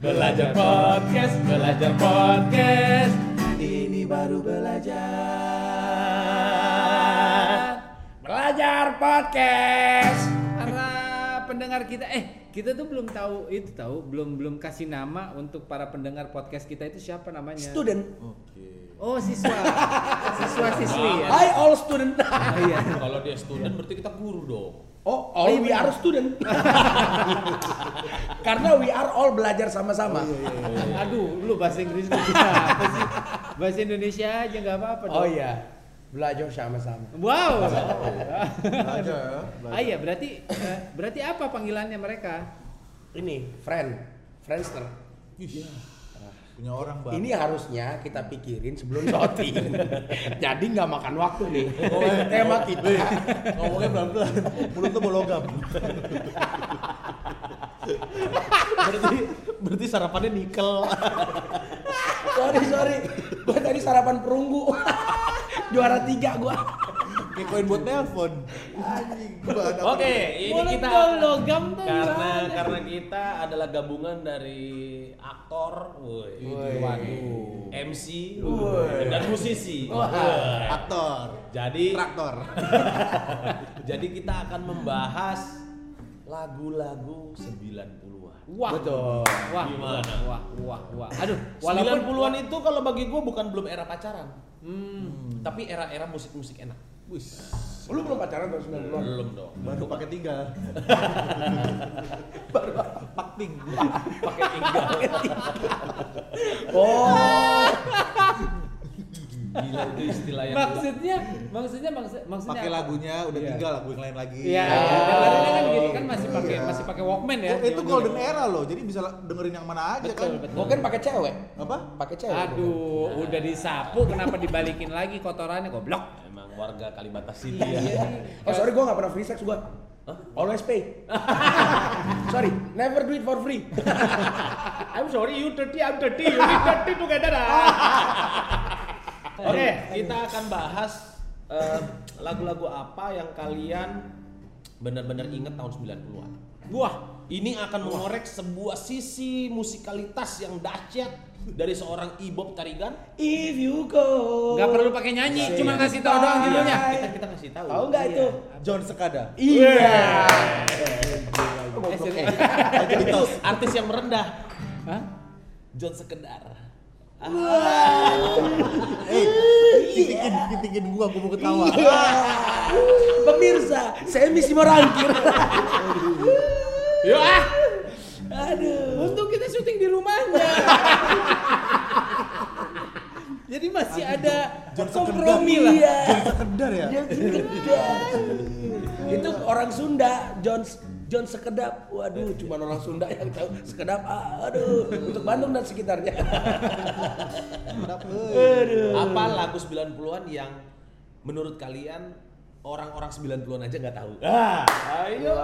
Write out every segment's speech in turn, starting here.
Belajar podcast, belajar podcast. Ini baru belajar. Belajar podcast. Para pendengar kita, kita tuh belum tahu belum kasih nama untuk para pendengar podcast kita itu siapa namanya? Student. Oke. Oh, siswa-siswi ya. Hi all student. Iya. Kalau dia student berarti kita guru dong. Oh, all we are student. Karena we are all belajar sama-sama. Iya. Aduh, lu bahasa Inggris lu apa sih? Bahasa Indonesia aja nggak apa-apa dong. Oh iya, belajar sama-sama. Wow. Belajar ya. Iya, berarti apa panggilannya mereka? Ini Friendster. Punya orang Bang. Ini harusnya kita pikirin sebelum shooting. Jadi nggak makan waktu nih. Tema kita. Ngomongnya pelan-pelan. Mulut tuh bologam. berarti sarapannya nikel. Sorry. Gua tadi sarapan perunggu. Juara 3 gua. Kayak koin buat nelpon. Anjing. Oke, ini kita logam tuh karena kita adalah gabungan dari aktor, waduh, MC, dan musisi. Aktor. Jadi Traktor. jadi kita akan membahas lagu-lagu 90-an. Wah, Betul. Wah, Gimana? Wah. Aduh, walaupun 90-an itu kalau bagi gue bukan belum era pacaran. Tapi era-era musik-musik enak. Lu belum pacaran tahun 90-an? Belum dong. Baru pakai 3. Pakting. Pakai tinggal. Oh. Gila itu istilah yang maksudnya Pakai lagunya udah Iya. tinggal lagu yang lain lagi. Iya, dengerin kan gitu kan masih pakai Walkman ya. Oh, itu zaman golden dulu. era loh. Jadi bisa dengerin yang mana aja kan. Betul. Mungkin pakai cewek. Apa? Pakai cewek. Aduh, udah disapu kenapa dibalikin lagi kotorannya goblok. emang warga Kalibata City Iya. ya. Oh sorry, gue gak pernah free sex gue. Always pay. Sorry, never do it for free. I'm sorry, you dirty, I'm dirty, you dirty together. Oke, kita akan bahas lagu-lagu apa yang kalian benar-benar ingat tahun 90-an. Wah, Ini akan mengorek sebuah sisi musikalitas yang dahsyat dari seorang Ibob Tarigan. If you go. nggak perlu pakai nyanyi, cuma kasih tahu doang judulnya. Kita kasih tahu. Tahu nggak itu? John Sekada. Iya. Itu artis yang merendah. Hah? John Sekedar. Kitingin gua mau ketawa. Pemirsa, saya misi merangkir. Yo ah. Aduh. Untung kita syuting di rumahnya. Jadi masih ada kompromi lah. Iya. Sekedar ya. John Sekedap. Itu orang Sunda, John Sekedap. Waduh, cuma orang Sunda yang tahu Sekedap. Aduh, untuk Bandung dan sekitarnya. Apa lagu 90-an yang menurut kalian orang-orang 90-an aja nggak tahu? Ayo.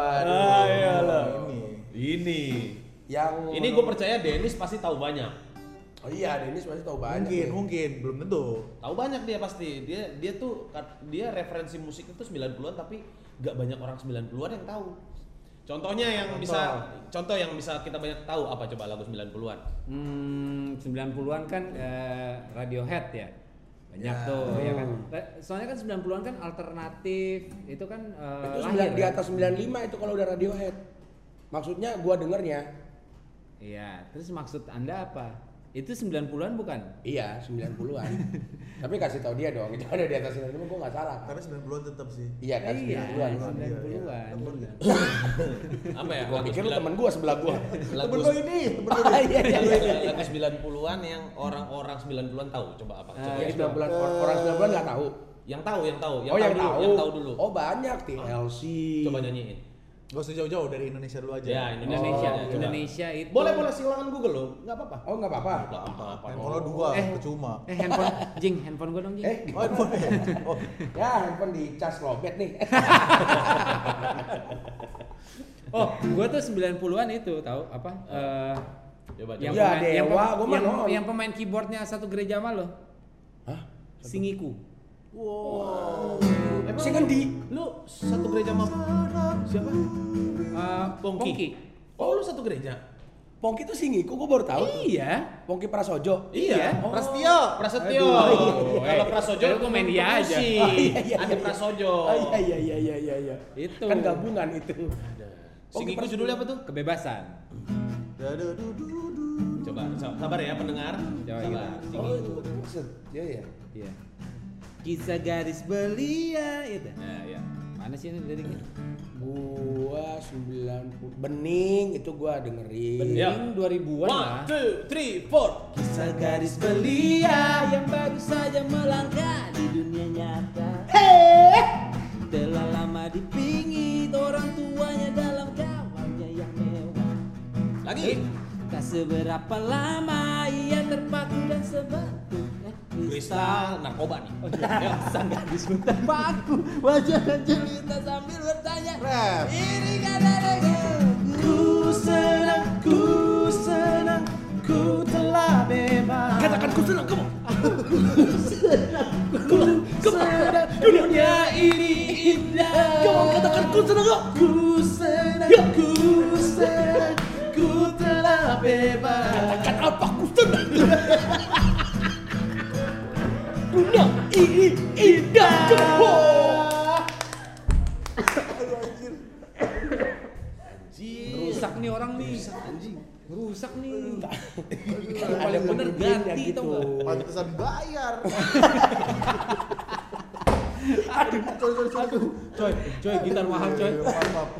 Ini. Yang Ini gue percaya Dennis pasti tahu banyak. Oh iya, Dennis masih tahu banyak. Mungkin belum tentu. Tahu banyak dia pasti. Dia referensi musik itu 90-an tapi nggak banyak orang 90-an yang tahu. Contoh yang bisa kita banyak tahu apa coba lagu 90-an? 90-an kan Radiohead ya. Banyak tuh ya kan. Soalnya kan 90-an kan alternatif, itu kan Itu lahir. di atas 95 itu kalau udah Radiohead. Maksudnya gua dengernya. Iya, terus maksud Anda apa? Itu 90-an bukan? Iya, 90-an. Tapi kasih tahu dia dong, itu ada di atas 95 gua enggak salah. Karena 90-an tetap sih. Iya kan, 90-an. 90-an. Apa ya? Gua pikir lu temen gua sebelah gua. Lagu Temen lo ini. Iya. lagu 90-an yang orang-orang 90-an tahu. Coba apa? Coba. Yang 90-an orang 90-an enggak tahu. Yang tahu. Yang tahu dulu. Oh, banyak TLC. Coba nyanyiin. Gak usah jauh-jauh dari Indonesia dulu aja. Ya, Indonesia, Oh, Indonesia itu. Boleh silakan Google loh. Enggak apa-apa. Oh, enggak apa-apa. Enggak apa-apa. Handphone lo 2, percuma. handphone gua dong, Jing. Oh, handphone. Oh, Ya, handphone dicas lobet nih. Oh, gua tuh 90-an itu tahu apa? Coba. Ya, Dewa, gua mah nol. yang pemain keyboardnya satu gereja mah loh. Hah? Singiku. Wow. Si Ngendi? Lu satu gereja sama siapa? Pongki. Oh, lu satu gereja? Pongki itu Singiku, gue baru tahu. Iya. Pongki Prasojo. Iya. Oh. Prasetyo. Prasetyo. Kalau Prasojo Kalau gua main dia aja. Ada Prasojo. Oh, iya. Itu. Kan gabungan itu. Singiku judulnya apa tuh? Kebebasan. Coba sabar ya pendengar. Coba Sabar. gitu. Oh, itu maksud. Iya. Iya. Kisah garis belia itu. Ya. Mana sih ini liriknya? Gua 90 Bening itu gua dengerin. Bening Ya. 2000-an lah. 1, 2, 3, 4. Kisah garis belia yang baru saja melangkah di dunia nyata. Telah lama dipingit orang tuanya dalam kawannya yang mewah. Lagi. Tak seberapa lama ia terpaku dan sebatu Kristal narkoba nih. sang gadis terpaku wajah dan jelita sambil bertanya Rap. ini kata-kata ku senang ku telah bebas. Katakan ku senang kamu. Ku senang dunia ini indah. Kamu katakan ku senang kok. Ku senang ku telah bebas. Katakan apa ku senang. Dunia ini indah. Rusak nih orang nih. Rusak nih. Yang Ada paling bener lagunya ganti gitu. tau gak? Pantesan bayar. Aduh, coy, gitar mahal coy. Maaf.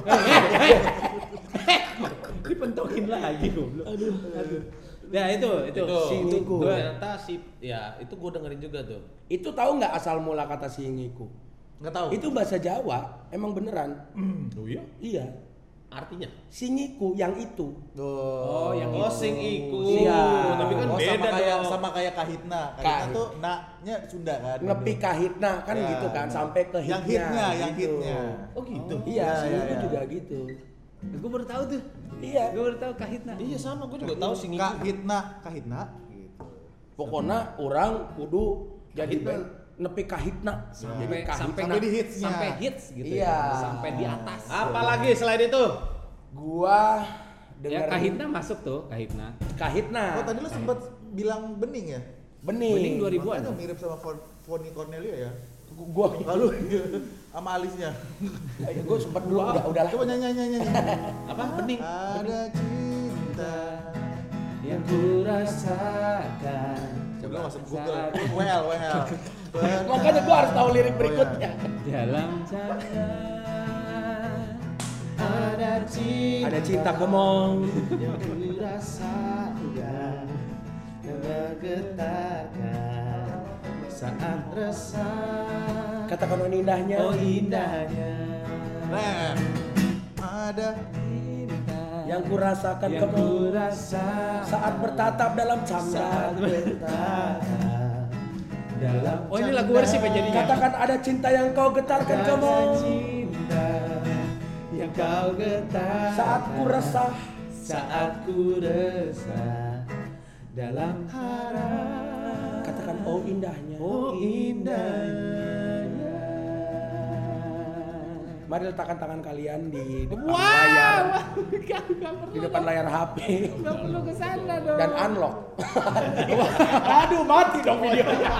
Dipentokin lagi goblok. Aduh. Ya itu. Singiku. Ternyata itu gue dengerin juga tuh. Itu tahu nggak asal mula kata Singiku? Nggak tahu. Itu bahasa Jawa, emang beneran. Oh iya? Iya. Artinya? Singiku yang itu. Oh, yang Oh, itu. sing iku. Iya. Tapi kan Oh, beda dong. sama kayak kahitna. Kahitna Kahit. tuh naknya Sunda kan. Nepi kahitna kan Ya. gitu kan sampai ke hitnya. Yang hitnya. Oh gitu. Iya, Singiku iya. juga gitu. Gue baru tahu tuh. Iya. Gue baru tahu kahitna. Iya sama, gue juga tahu sing iku. Kahitna gitu. Pokoknya orang kudu jadi Kahitna. band nepi kahitna. Jadi kahitna. Sampai di hitsnya. Sampai hits gitu Iya. ya. Sampai di atas. Apalagi selain itu? Gua Ya dengerin kahitna masuk tuh, kahitna. kahitna. Oh, tadi lu sempat bilang bening ya? Bening 2000-an. Makanya mirip sama Foni Cornelia ya. Gua Lalu sama alisnya. gua sempat dulu udah lah. Coba nyanyi. Apa? Bening. Ada cinta. Yang ku rasakan. Coba masuk Google. Well. Makanya gua harus tahu lirik berikutnya. Dalam canda ada cinta. Ada cinta gemong. Yang ku rasakan dan bergetarkan saat resah. Katakan oh indahnya. Oh indahnya. Nah, ada Cinta Yang ku rasakan yang kamu ku rasa saat bertatap dalam canda. saat bertatap dalam. Oh ini lagu versi penjadinya. Katakan ada cinta yang kau getarkan Ada kamu cinta yang kau getar saat ku resah. saat ku resah dalam harap. Katakan oh indahnya. Oh indahnya. Mari letakkan tangan kalian di depan Wow, layar, gak di depan layar HP Gak perlu kesana dong. dan unlock. Aduh, mati dong videonya.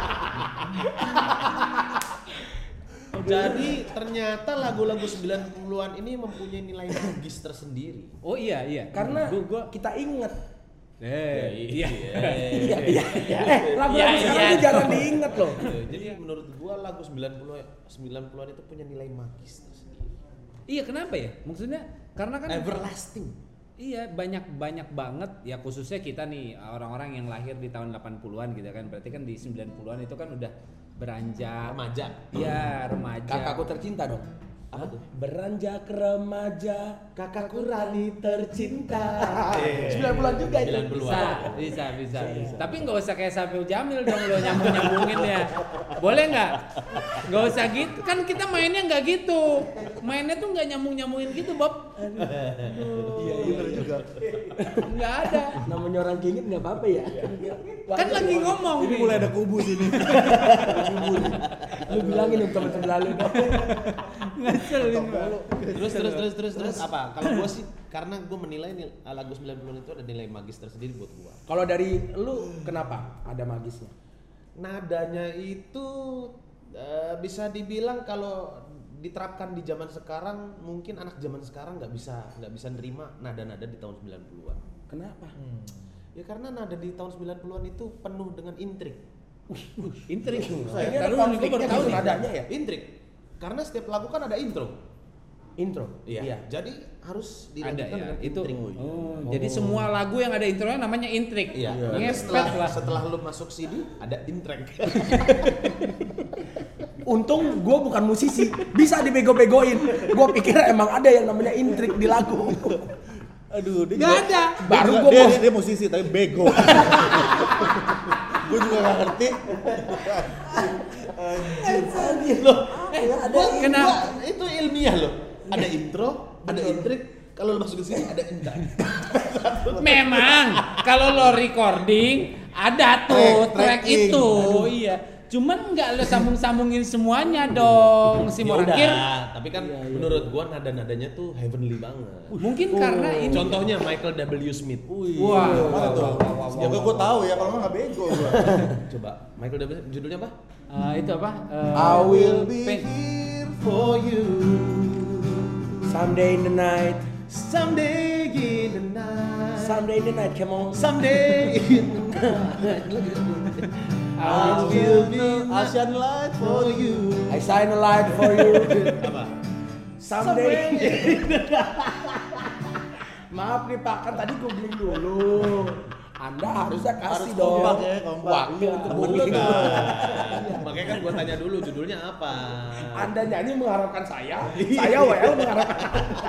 Jadi ternyata lagu-lagu 90-an ini mempunyai nilai magis tersendiri. Oh iya. Karena Gua kita inget. iya. Iya. Lagu-lagu sekarang itu jarang diinget loh. Jadi menurut gua lagu 90-an itu punya nilai magis tersendiri. Iya kenapa ya? Maksudnya karena kan Everlasting. iya banyak banget ya khususnya kita nih orang-orang yang lahir di tahun 80-an gitu kan. Berarti kan di 90-an itu kan udah beranjak Remaja. Iya, remaja. Kakakku tercinta dong. Apa tuh? Beranjak remaja, kakakku Rani tercinta. 90-an juga itu. 90-an. Bisa. Tapi nggak usah kayak Saiful Jamil dong lo nyambung-nyambungin ya. Boleh nggak? Nggak usah gitu. Kan kita mainnya nggak gitu. Mainnya tuh nggak nyambung-nyambungin gitu, Bob. Iya, bener juga. Nggak ada. Namanya orang kingit nggak apa-apa ya. Kan lagi ngomong. Ini nih. mulai ada kubu sini. Lu bilangin dong teman-teman lalu dong. Ngeselin Terus apa? Kalau gua sih karena gua menilai lagu 90-an itu ada nilai magis tersendiri buat gua. Kalau dari lu kenapa ada magisnya? Nadanya itu bisa dibilang kalau diterapkan di zaman sekarang, mungkin anak zaman sekarang nggak bisa nerima nada-nada di tahun 90-an. Kenapa? Ya karena nada di tahun 90-an itu penuh dengan intrik. intrik. Ini ada Lalu konfliknya gue baru tahu gitu nih. nadanya ya? Intrik. Karena setiap lagu kan ada intro. Intro. Jadi harus Ada dilanjutkan ya, dengan itu. intrik. Jadi semua lagu yang ada intronya namanya intrik. Iya. Ngepet Nanti lah. setelah lu masuk CD ada intrek. Untung gue bukan musisi, bisa dibego-begoin. Gue pikir emang ada yang namanya intrik di lagu. Aduh, dia Nggak juga- ada. Baru dia gue juga- mau dia musisi tapi bego. Gue juga gak ngerti. Loh, Kenapa? itu ilmiah loh. Ada intro, ada intrik. Kalau lu masuk ke sini ada intrek. Memang kalau lo recording ada tuh track Tracking. itu. Iya. Cuman nggak lo sambung-sambungin semuanya dong. Si Ya Morakir udah, tapi kan menurut gua nada-nadanya tuh heavenly banget. mungkin karena ini. Contohnya Michael W. Smith. Wah. Mana tuh? Semoga gue tahu ya, kalau nggak bego gue. Coba Michael W. judulnya apa? Itu apa? I will be Pen- here For you, someday in the night, someday in the night, someday in the night, come on. someday in the night. I will be Asian light for you. I shine a light for you. Apa? Someday. Maaf nih Pak, kan tadi gue beli dulu. Anda harusnya kasih Harus dong. kompak ya, kompak. Waktu untuk Bener beli. kan? Makanya kan gua tanya dulu judulnya apa. Anda nyanyi mengharapkan saya WL mengharapkan.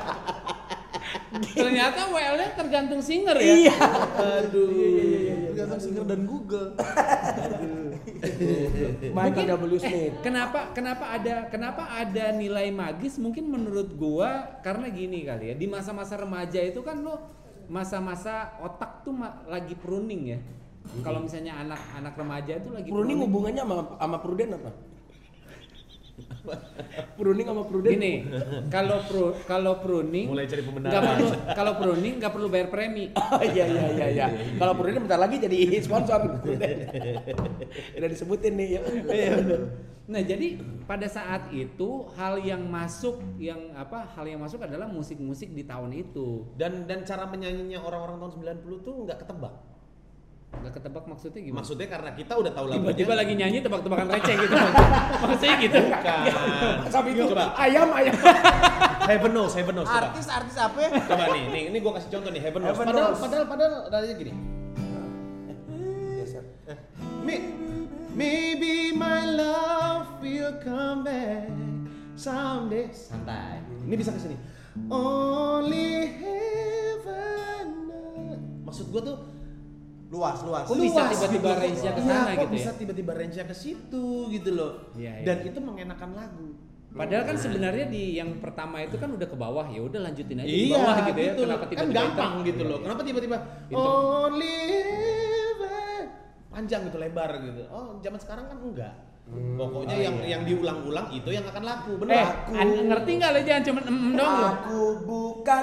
Ternyata WL-nya tergantung singer ya. Iya. Aduh. Tergantung singer dan Google. Michael W. Smith. Kenapa ada nilai magis? Mungkin menurut gua karena gini kali ya. Di masa-masa remaja itu kan lo masa-masa otak tuh lagi pruning ya. Kalau misalnya anak remaja itu lagi Pruning hubungannya sama Pruden apa? Pruning sama Pruden. Gini, kalau pruning Mulai cari pembenaran. nggak perlu, kalau pruning nggak perlu bayar premi. Oh iya. Kalau Pruden bentar lagi jadi sponsor. Udah disebutin nih ya. Nah, jadi pada saat itu hal yang masuk adalah musik-musik di tahun itu. Dan cara menyanyinya orang-orang tahun 90 tuh nggak ketebak. Nggak ketebak maksudnya gimana? Maksudnya karena kita udah tahu lagunya. Tiba-tiba lagi nyanyi tebak-tebakan receh gitu. Maksudnya gitu. Bukan. Sampai itu Coba. ayam. Heaven knows coba. Artis apa ya? Coba nih gua kasih contoh nih Heaven knows. Heaven knows. Padahal nadanya gini. Maybe my love will come back someday. Santai. Ini bisa ke sini. Only heaven knows. Maksud gua tuh Luas. Kok bisa tiba-tiba range-nya ke sana gitu ya? Bisa tiba-tiba range-nya ke situ gitu loh. Iya, iya. Dan itu mengenakan lagu. Padahal kan sebenarnya di yang pertama itu kan udah ke bawah, ya udah lanjutin aja di Iya bawah gitu ya. loh. Kenapa Kan tiba-tiba gampang intro? gitu loh. Kenapa tiba-tiba Intro. only heaven panjang gitu lebar gitu. Oh, zaman sekarang kan enggak. Pokoknya yang diulang-ulang itu yang akan laku, benar. Ngerti nggak lo jangan cuma dong lo. Aku bukan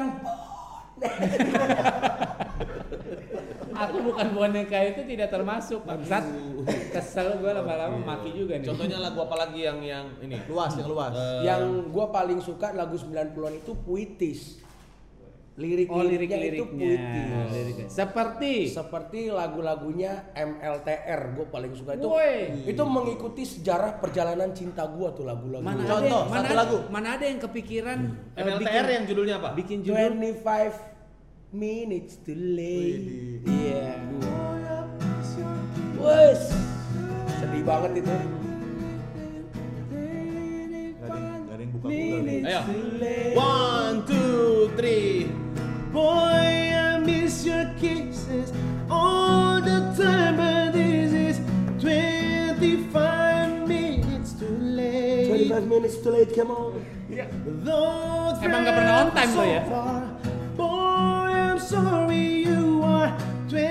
Aku bukan boneka itu tidak termasuk bangsat. Kesel gue lama-lama maki juga nih. Contohnya lagu apa lagi yang ini? Luas, yang luas. yang gua paling suka lagu 90-an itu puitis. Lirik-liriknya itu puitis. Liriknya. Seperti lagu-lagunya MLTR, gue paling suka itu. Woi. Itu mengikuti sejarah perjalanan cinta gue tuh lagu-lagu. Contoh, satu lagu. Mana ada yang kepikiran MLTR yang judulnya apa? bikin judul 25 minutes too late. Iya. Wes. Sedih banget itu. Gak ada yang buka Google nih. Ayo. 1, 2, 3. Boy, I miss your kisses all the time, but this is 25 minutes too late. 25 minutes too late, come on. Though Emang nggak pernah on time so lo ya? far, boy, I'm sorry you are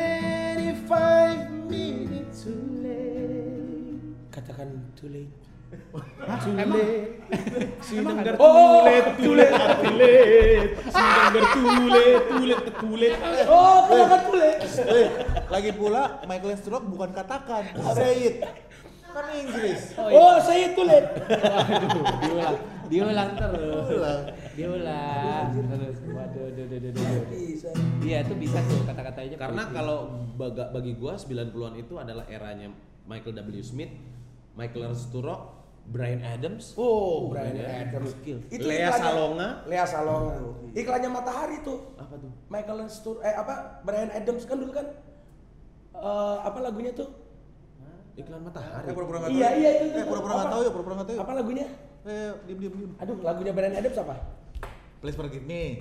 25 minutes too late. Katakan too late. Sinenggar Oh, tulet. Sinenggar tulet. Oh, kenapa tulis? Lagi pula Michael Stroke bukan katakan, say it. Kan Inggris. Oh, saya tulis. Waduh, diulang terus. Diulang terus. Waduh. Bisa. Iya, itu bisa tuh kata-katanya. Karena kalau bagi gua 90-an itu adalah eranya Michael W. Smith, Michael Sturrock, Bryan Adams. Oh, Bryan Adams. Itu Lea iklannya- Salonga. Lea Salonga. Iklannya Matahari tuh. Apa tuh? Michael Bryan Adams kan dulu kan apa lagunya tuh? Iklan Matahari. Pura-pura nggak tahu. Iya itu. Pura-pura nggak tahu ya, pura-pura nggak tahu. Apa lagunya? Diem. Aduh, lagunya Bryan Adams apa? Please forgive me.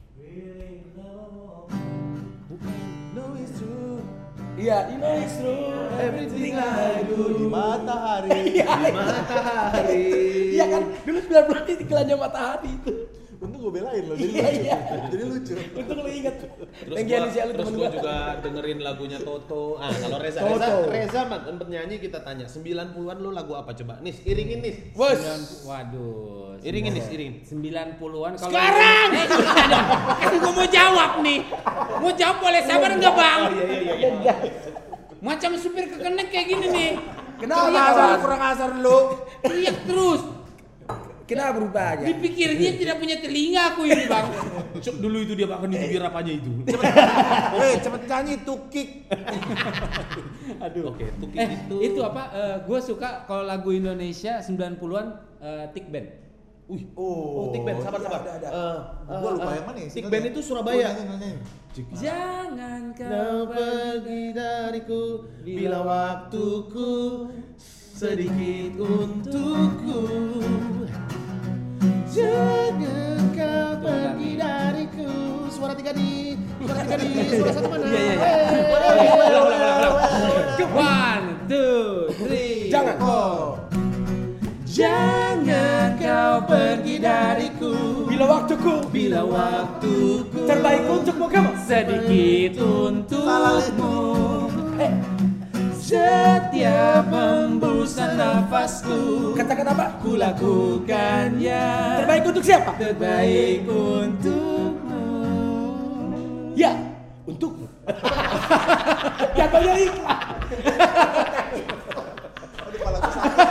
No it's true. Iya, you know it's true. Everything I do di matahari. Matahari. Iya kan, dulu 90 itu iklannya Matahari itu. Untung gue belain loh, jadi Iya, lucu. iya. Jadi lucu. Untung lu inget. Terus Thank you, gua, Alicia, lu terus temen gua gua. juga dengerin lagunya Toto. Kalau Toto. Reza penyanyi kita tanya 90-an lu lagu apa coba? Nis, iringin Nis. Bos. Waduh. Iringin Nis, iringin. 90-an kalau Sekarang! Kan gua mau jawab nih. Mau jawab boleh sabar enggak, Bang? Iya. Macam supir kekenek kayak gini nih. Kenapa? Kurang asar lu. Teriak terus. Kenapa berubahnya? Dipikir dia tidak punya telinga aku ini, Bang. Cuk, dulu itu dia makan di bibir apanya itu. Cepet nyanyi tukik. Aduh. Oke, Tukik Itu apa? Gue suka kalau lagu Indonesia 90-an Tik Band. Oh, Tik Band, sabar. Ada. Gua lupa yang mana ya? Tik Band itu Surabaya. Nyanyi. Jangan Kau kau pergi dariku bila waktuku sedikit untukku. Jangan kau pergi dariku. Suara tiga di, suara satu mana? Iya. Ulang. 1, 2, 3. Jangan. Jangan kau pergi dariku Bila waktuku terbaik untukmu kamu. sedikit untukmu. Setiap hembusan nafasku Katakan apa? ku lakukannya Terbaik untuk siapa? terbaik untukmu. Ya, untukmu. Jatuhnya iklan. Aduh, kepala gua sakit.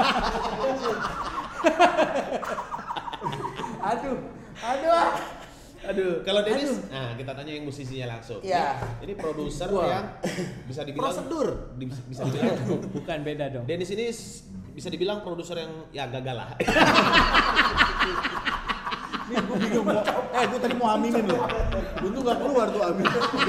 Aduh, kalau Dennis, nah kita tanya yang musisinya langsung. Iya. Ini produser yang bisa dibilang Prosedur. bisa dibilang Bukan beda dong. Dennis ini bisa dibilang produser yang ya gagal lah. Nih gue bingung mau. Gue tadi mau aminin loh. Untung nggak keluar tuh amin.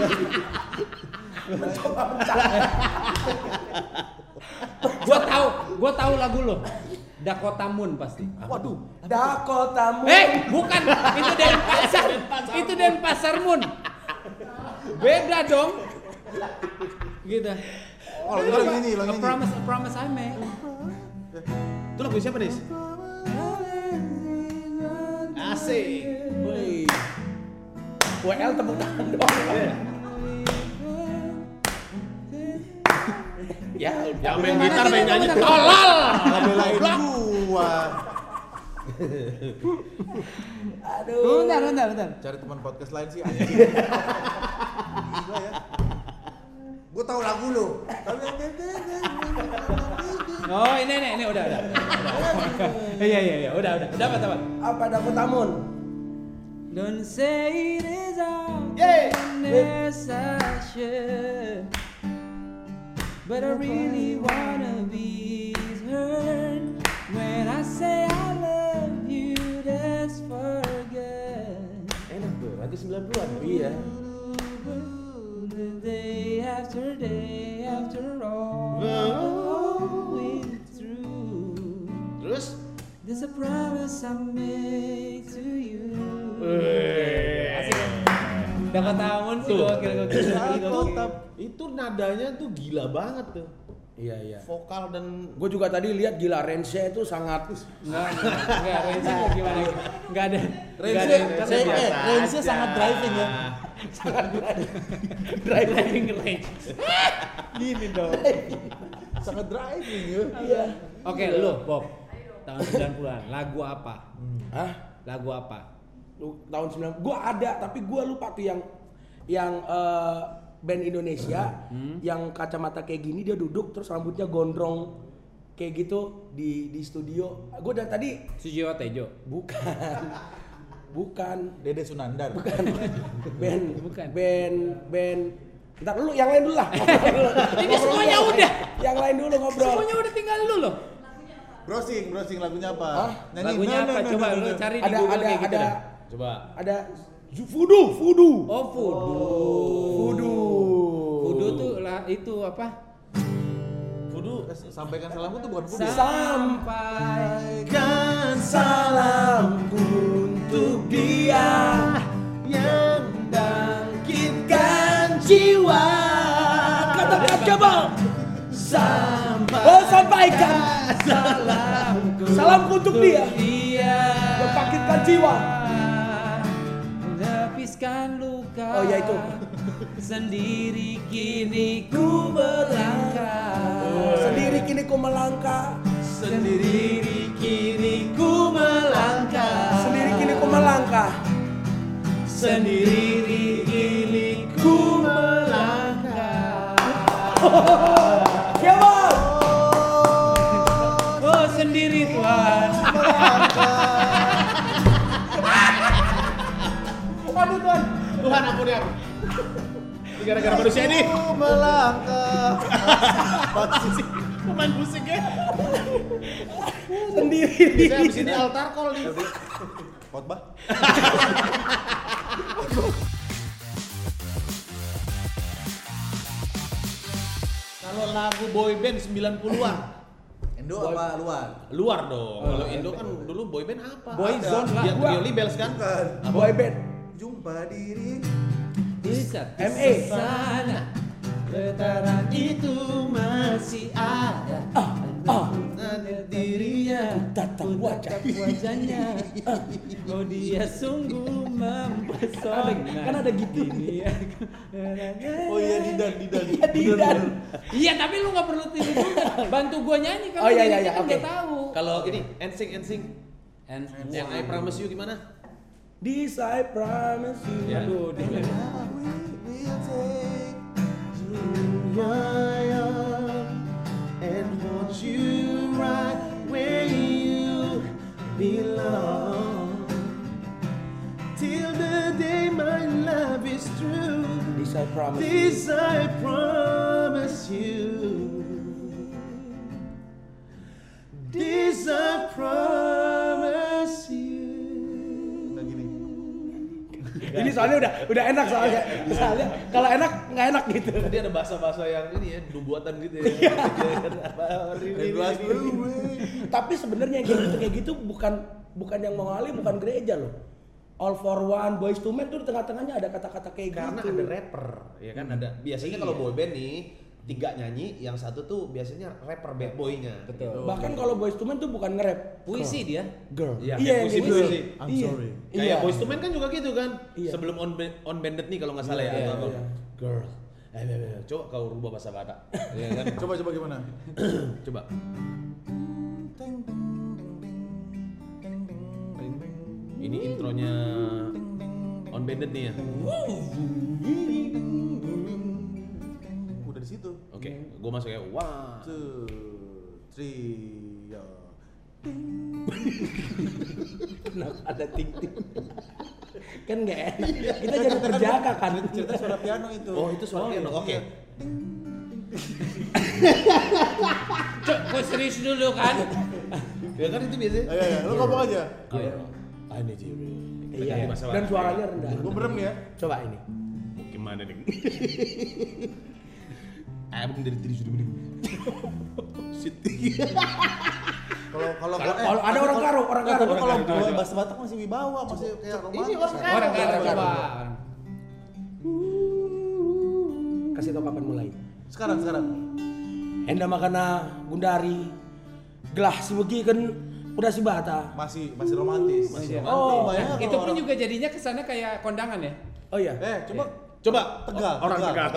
Gua tahu lagu lo. Dakota Moon pasti. Waduh. Dakota Moon. Bukan. Itu Denpasar. Itu Denpasar Moon. Beda dong. Gitu. Oh, yang ini, yang A ini. promise I made. Itu lagu siapa, Nis? Asik. Woi. WL tepuk tangan dong. Ya, Yang main gitar, main nyanyi. Tolol. Ngebelain gua. aduh. Bentar. Cari teman podcast lain sih anjing. Gila ya. Gue tahu lagu lo. Oh, ini udah. Iya, udah. Dapat. Apa Dakota Moon? Don't say it is all Yeay. session, but I really wanna be heard when I say I love you. That's forget. Enak tuh, lagu 90-an. Iya. Day after all going through. Terus? There's a promise I make to you. Asik kan? Dakota Moon sih gokil. Itu nadanya tuh gila banget tuh. Iya. Vokal dan Gue juga tadi lihat gila range-nya itu sangat Enggak, range-nya gimana? Enggak ada. Range-nya sangat driving ya. Driving range. Gini dong. Sangat driving ya. iya. Oke, lu Bob. Tahun 90-an. Lagu apa? Hah? Lagu apa? Tahun 90. Gua ada tapi gua lupa tuh yang band Indonesia yang kacamata kayak gini, dia duduk terus rambutnya gondrong kayak gitu di studio. Gua dari tadi Sujiwo Tejo. bukan Dede Sunandar. band ntar dulu yang lain dulu lah. Ini semuanya udah. Yang lain dulu ngobrol. Semuanya udah tinggal lu loh. Browsing lagunya apa? Hah? Lagunya apa? Coba lu cari di Ada Google kayak gitu dah. Coba. Ada Voodoo. Oh, Voodoo. Voodoo tuh lah itu apa? Voodoo. Sampaikan salamku tuh bukan Voodoo. Sampaikan salamku untuk dia yang bangkitkan jiwa. Katakan coba. Sampaikan salamku untuk dia yang bangkitkan jiwa. Menepaskan luka. Oh ya itu. Sendiri kini ku melangkah. Sendiri kini ku melangkah. Sendiri kini ku melangkah. Sendiri kini ku melangkah. Sendiri kini ku melangkah. Siapa? Oh sendiri Tuhan. Aduh Tuhan. Tuhan ampuni aku. Ini gara-gara manusia ini. Melangkah. Pemain musiknya. Sendiri. Bisa habis ini altar call nih. Khotbah. Kalau lagu boyband 90-an. Indo apa luar? Luar dong. Kalau Indo kan dulu boyband apa? Boyzone lah. Yang Trio Libels kan? Bukan. Boy band. Jumpa diri. Bisa ME. sana getaran itu masih ada. Dirinya Tatap wajah. wajahnya. Oh dia sungguh mempesona. Kan ada gitu. Oh iya Didan. Didan. Iya tapi lu nggak perlu tiru juga. Bantu gua nyanyi kan. Oh, iya, lu iya, nyanyi kan oke. nggak tahu. Kalau ini NSYNC And yang I Promise You gimana? This I promise you. Ya. aduh dia. And want you right where you belong. Till the day my love is true. This I promise. This I promise you. This I promise you. Nah gini. Ini soalnya udah enak soalnya. Soalnya kalau enak nggak enak gitu. Tadi ada bahasa-bahasa yang ini ya, buatan gitu ya. Tapi sebenarnya yang kayak gitu bukan yang mengalih, bukan gereja loh. All for One, Boyz II Men tuh di tengah-tengahnya ada kata-kata kayak Karena gitu. ada rapper, ya kan ada. Biasanya kalau boyband nih 3 nyanyi, yang satu tuh biasanya rapper bad boy-nya. Betul. Bahkan kalau Boyz II Men tuh bukan nge-rap. Puisi dia. Girl. Iya, Iya, puisi, kayak gitu. puisi. I'm Iya. sorry. Kayak Iya. Boyz II Men kan juga gitu kan. Iya. Sebelum on banded nih kalau nggak salah ya. Iya, atau apa. iya. Girl. Coba kau rubah bahasa Batak. Iya kan? Coba gimana? Coba. Ini intronya on banded nih ya. Udah di situ. Oke, gua masuk ya. 1, 2, 3, ya. Kenapa ada ting-ting? Kan nggak enak. Kita jadi terjaga kan. Cerita suara piano itu. Oh, itu suara piano. Oke. Cok, gua serius dulu kan. Ya kan itu biasa. Ayo, lu ngomong aja. I need you. Iya. Dan suaranya rendah. Gua merem nih ya. Coba ini. Gimana nih? Abang dari tadi sudah mending. Shit. Kalau Kalau ada orang karo. Tapi kalau gua bahasa Batak masih wibawa, masih kayak romantis. Ini orang karo. Orang karo Orang coba. Kasih tau kapan mulai. Sekarang. Enda makana gundari gelah si begi kan udah si bata. Masih romantis. Oh, bayangin Itu kalau pun orang- juga jadinya kesana kayak kondangan ya. Oh iya. Coba Tegal. orang Tegal.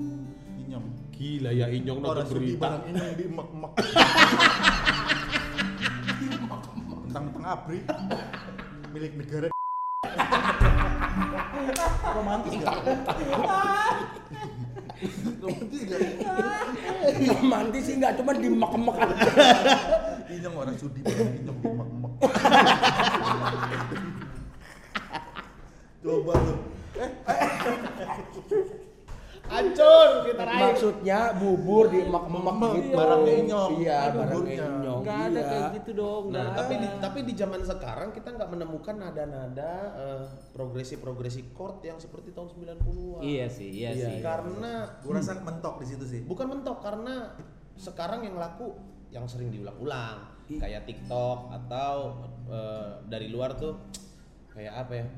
Inyong. Gila ya Inyong nonton Orang sudi berita. barang ini di emak-emak. mentang-mentang abri milik negara. Romantis gak? Romantis gak? Romantis sih nggak, cuma dimek-mek aja. Inyong orang sudi banget, inyong dimek-mek. Coba lu. Hancur kita raih. Maksudnya bubur dimek-mek gitu. Barangnya inyong. Iya, Buburnya. barangnya inyong. Nggak ada Iya. kayak gitu dong. Nah, nggak tapi di zaman sekarang kita nggak menemukan nada-nada progresi chord yang seperti tahun 90-an. Iya sih. Karena Gua rasa mentok di situ sih. bukan mentok, karena sekarang yang laku yang sering diulang-ulang kayak TikTok atau dari luar tuh kayak apa ya?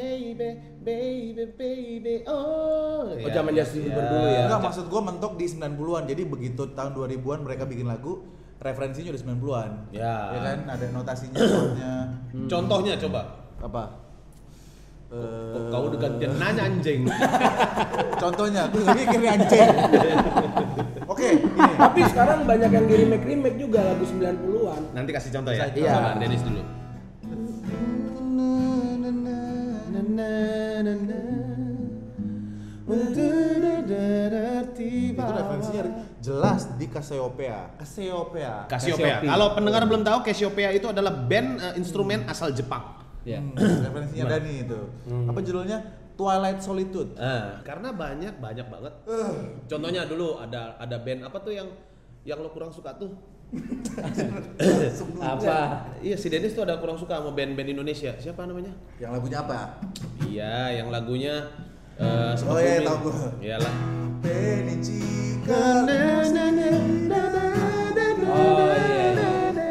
Baby, oh. Oh, zaman Justin Bieber dulu ya. Enggak, maksud gua mentok di 90-an. Jadi begitu tahun 2000-an mereka bikin lagu, referensinya udah 90-an. Ya. Ya kan, ada notasinya soalnya. Contohnya coba. Apa? Kau udah gantian nanya anjing. Contohnya, gue nggak mikir nih, anjing. Oke, ini. Tapi sekarang banyak yang di remake juga lagu 90-an. Nanti kasih contoh ya. Iya. Sama Dennis dulu. Itu referensinya jelas di Cassiopeia. Cassiopeia. Cassiopeia. Kalau pendengar belum tahu, Cassiopeia itu adalah band instrumen asal Jepang. Iya. Referensinya Dani itu. Apa judulnya? Twilight Solitude. Karena banyak banget. Contohnya dulu ada band apa tuh yang lo kurang suka tuh? Apa? Iya, si Dennis tuh ada kurang suka sama band-band Indonesia. Siapa namanya? Yang lagunya apa? Iya, yang lagunya Oh iya, tahu gua. Iyalah. Penicika. Oh iya.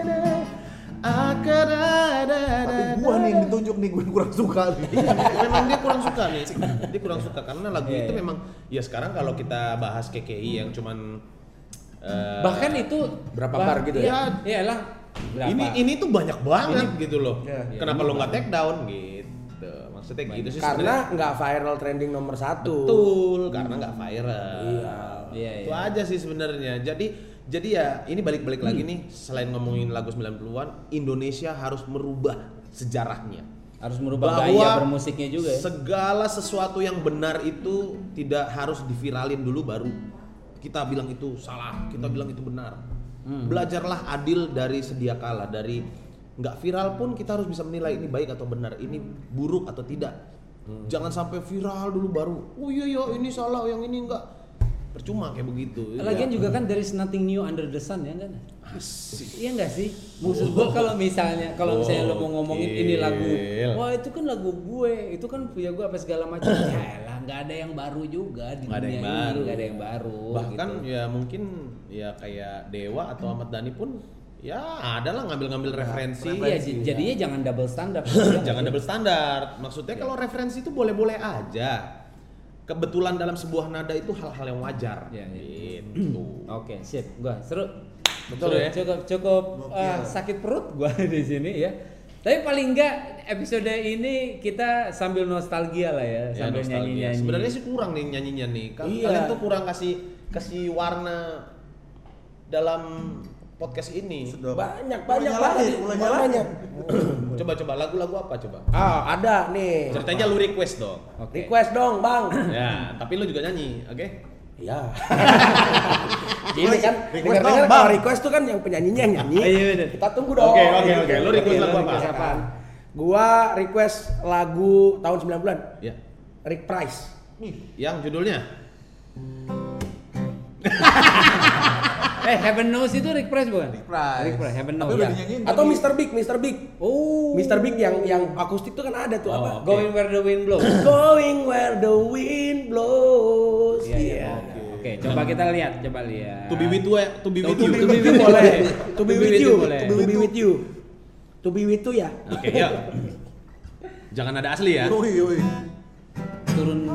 Tapi gua nih yang ditunjuk nih, gue kurang suka nih. Memang dia kurang suka nih. Dia kurang suka karena lagu itu memang ya sekarang kalau kita bahas KKI yang cuman Bahkan itu Berapa bar gitu ya? Iyalah. Berapa? ini tuh banyak banget gitu loh. Iya. Kenapa lo nggak take down gitu? Maksudnya gitu sih. Karena sebenarnya. nggak viral trending nomor 1. Betul, karena nggak viral. Iya. Itu aja sih sebenarnya. Jadi ya ini balik-balik lagi nih, selain ngomongin lagu 90-an, Indonesia harus merubah sejarahnya. Harus merubah Bahwa gaya bermusiknya juga ya. Segala sesuatu yang benar itu tidak harus diviralin dulu baru kita bilang itu salah, kita bilang itu benar. Belajarlah adil dari sedia kala, dari nggak viral pun kita harus bisa menilai ini baik atau benar, ini buruk atau tidak. Jangan sampai viral dulu baru, oh iya ini salah, yang ini enggak. Percuma kayak begitu. Lagian juga kan there is nothing new under the sun ya kan? Iya enggak sih? Maksud gua kalau misalnya lo mau ngomongin ini lagu, wah itu kan lagu gue, itu kan punya gue apa segala macam. Ya elah, nggak ada yang baru juga di dunia ini, nggak ada yang baru. Bahkan gitu. ya mungkin ya kayak Dewa atau Ahmad Dhani pun ya adalah ngambil referensi. Iya, jadinya jangan double standar. Jangan double standar. Maksudnya kalau referensi itu boleh-boleh aja. Kebetulan dalam sebuah nada itu hal-hal yang wajar. Iya, iya. Gitu. Oke, sip. Gua seru. Betul ya? Cukup sakit perut gua di sini ya. Tapi paling enggak episode ini kita sambil nostalgia lah ya, Ya, sambil nostalgia. nyanyi-nyanyi. Sebenarnya sih kurang nih nyanyinya nih. Iya. Kalian tuh kurang kasih warna dalam podcast ini. Sudah Banyak mulai banget. nyalahin. Coba lagu-lagu apa coba? Ada nih. Ceritanya lu request dong. Oke. Request dong, Bang. Ya, tapi lu juga nyanyi, oke? Iya. Gini kan, Request dengar-dengar dong, kalau Bang. request tuh kan yang penyanyinya yang nyanyi. Iya, bener. Kita tunggu dong. Oke. Lu request lagu apa? request apaan? Gua request lagu tahun 90-an. Ya. Rick Price. Yang judulnya? Heaven Knows itu Rick Price bukan? Rick Price. Rick Price, Heaven Tapi Knows. udah Ya. dinyanyiin Atau tadi. Mr. Big. Oh. Mr. Big yang akustik tuh kan ada tuh apa? Oke. Going Where the Wind Blows. Going where the wind blows. Iya. Oke, coba kita lihat, To be with you ya, to be with you. To be with you boleh. To be with you. boleh. To be with you. To be with you ya. Oke, yuk. Jangan ada asli ya. Yoi. Turun.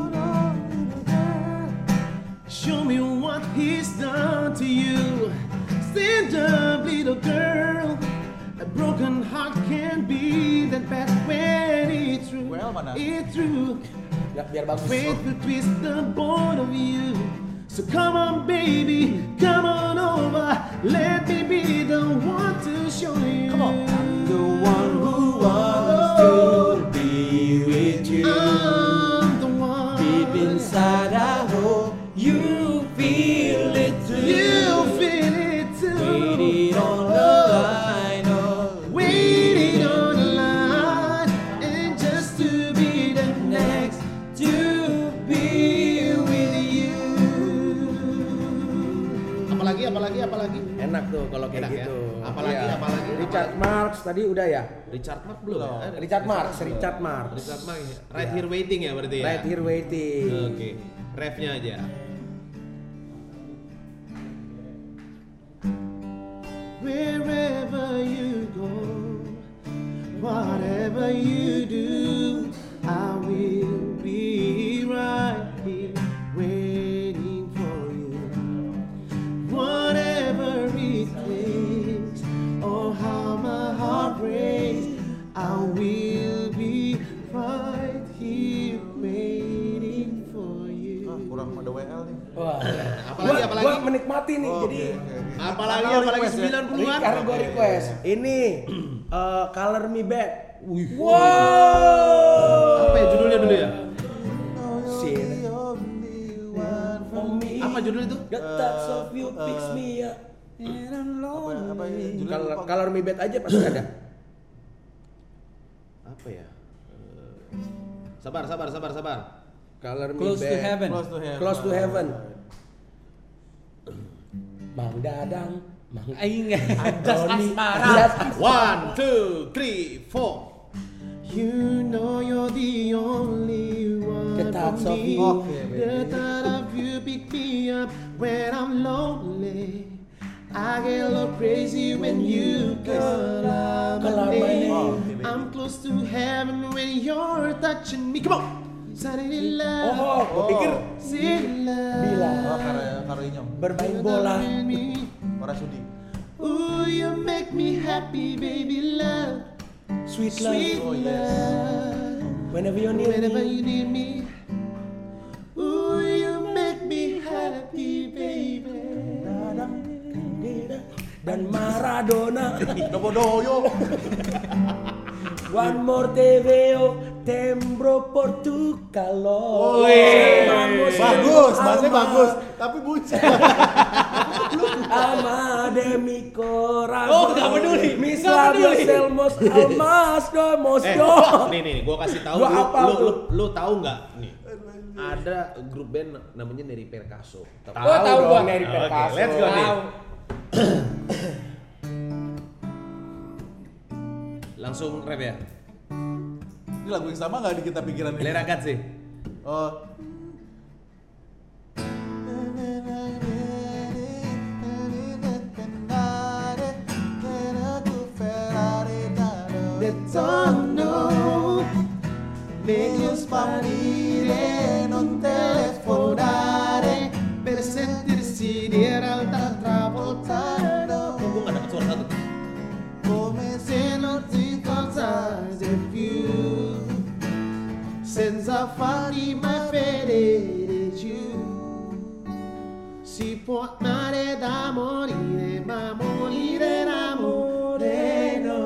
Show me what he's done to you. Stand up, little girl. A broken heart can be that bad when it's true. Well, mana? It's true. Biar bagus. Fate will twist the both of you. So come on, baby, come on over. Let me be the one to show you. Come on. the one who wants to be with you. I'm the one. Deep inside I hope you feel it too. You feel it too. Waiting on the line, oh, Waiting on the line, and just to be the next to be with you. Apalagi. Enak tuh kalau kayak Enak ya? gitu. Apalagi, Iya. apalagi. Richard Marx tadi udah ya? Richard Marx belum ya? Richard Marx. Richard Marx ya. Right Here Waiting ya berarti ya? Right Here Waiting. Oke, refnya aja. Wherever you go, whatever you do, I will be right here waiting for you. Whatever it takes, or how my heart breaks, I will be right here waiting for you. Kurang ada WL nih. Wah. Apalagi? Gua menikmati nih. Jadi Apalagi request ya? 90-an. karena gua request. Ini Color Me Back. Wow. Apa ya judulnya dulu ya? Shit. Apa judul itu? The touch of you picks me up. Apa ya? Judulnya lupa. Color Me Back aja pasti ada. Apa ya? Sabar. Color Me Close to Back. Heaven. Close to Heaven. Mang Dadang, Mang Aing Anjas asmara. Anjas 1, 2, 3, 4. You know you're the only one The touch for of me. you. The thought of you pick me up when I'm lonely. I get a little crazy when you call out my name. I'm close to heaven when you're touching me. Come on. Suddenly love. Oh, gua pikir Suddenly love. Bila Karo Inyong. bermain bola. Warasudi. Ooh, you make me happy, baby love. Sweet Sweet love. love. Whenever you need Whenever me. you need me. Ooh, you make me happy, baby. Dan Maradona. Dobodoyo. One more te veo, tembro por tu calor. Bagus, bahasanya bagus. Tapi bucin. Ama de mi corazón. Oh, nggak peduli. Mis Nggak labios peduli. elmos almas domos do. Nih, gua kasih tahu Gua hafal tuh. lu tahu nggak nih? Ada grup band namanya Neri Perkaso. Oh, tahu gua. Neri Oke, Perkaso. let's go nih. Tahu. Langsung rap ya. Ini lagu yang sama nggak di kita pikiran ini? Lerakat sih. Oh. Ritorno, meglio sparire, non telefonare, per sentirsi di realtà travoltare, Gua nggak dapet suara satu. come se non ti importasse più, senza farti mai vedere giù. Si può amare da morire, ma morire d'amore no.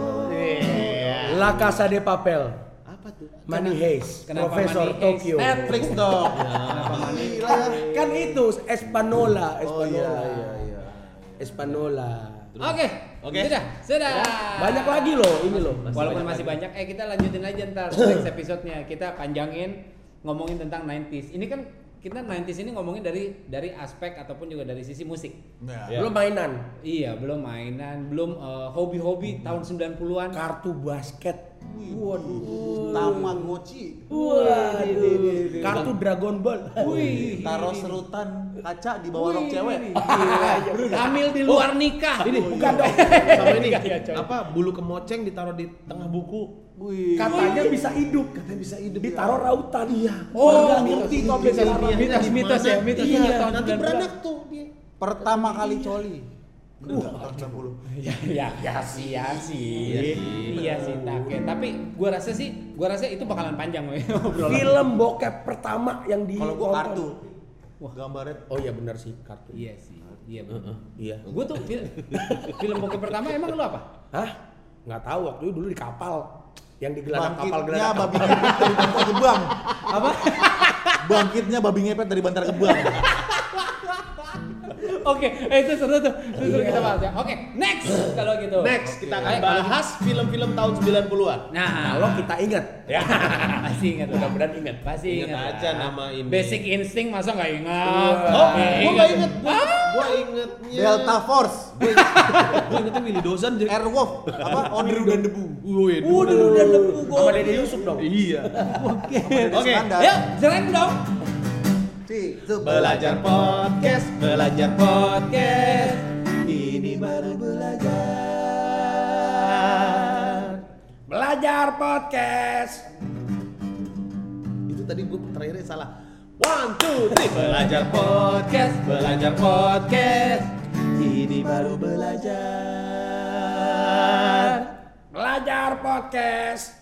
La Casa de Papel. Apa tuh? Money Heist. Kenapa Profesor Money Heist? Tokyo. Netflix dong. Gila ya. Kan itu Espanola. Oh iya. Espanola. Oke. Sudah. Banyak lagi loh ini loh. Walaupun masih banyak, kita lanjutin aja ntar next episode-nya. Kita panjangin ngomongin tentang 90s. Ini kan kita 90s ini ngomongin dari aspek ataupun juga dari sisi musik. Ya. Belum mainan. Iya, belum mainan, belum hobi-hobi tahun 90-an. Kartu basket. Waduh. Tamagotchi. Waduh. Kartu Dragon Ball. Wih. Taruh serutan kaca di bawah rok cewek. Hamil di luar nikah. Ini bukan dong. Sama ini Iya, coy. apa bulu kemoceng ditaruh di tengah buku. Wih. Katanya bisa hidup. Katanya bisa hidup. Ditaruh rautan. Iya. Oh, Nggak ngerti tuh sampai sekarang. mitos ya, mitos Iya, tahun Nanti 90-an. beranak tuh dia. Pertama kali coli. Bener nggak? Tahun 90. Ya sih. Iya sih, tapi gua rasa itu bakalan panjang we, obrolan. Film bokep pertama yang di Kalau gua kartu. Wah. Gambarnya. Oh iya benar sih kartu. Iya sih. Iya. bener. Iya. Gua tuh film bokep pertama emang lu apa? Hah? Nggak tahu, waktu itu dulu di kapal. Yang digelar kapal Bangkitnya gelar babi ngepet dari Bantar Gebang. Apa? Bangkitnya babi ngepet dari Bantar Gebang. Oke, itu seru tuh. Itu kita bahas ya. Oke, next kalau gitu. Next kita akan Ayo, kalau bahas film-film tahun 90-an. Nah, Kalau kita ingat, ya pasti ingat. mudah-mudahan ingat. Pasti Ingat ingat aja lah. nama ini. Basic Instinct masa nggak ingat? Oh, gua nggak inget. Ah. Gua ingetnya Delta Force, Gua ingetnya Willy Dozan. Airwolf, apa? Onir dan Debu. Udah dan lepu sama Dede Yusuf dong. Iya. Oke. Yuk, jalan dong. Belajar podcast, belajar podcast. Ini baru belajar. Belajar podcast. Itu tadi gua terakhirnya salah. 1, 2, 3. Belajar podcast, belajar podcast. Ini baru belajar. Belajar podcast.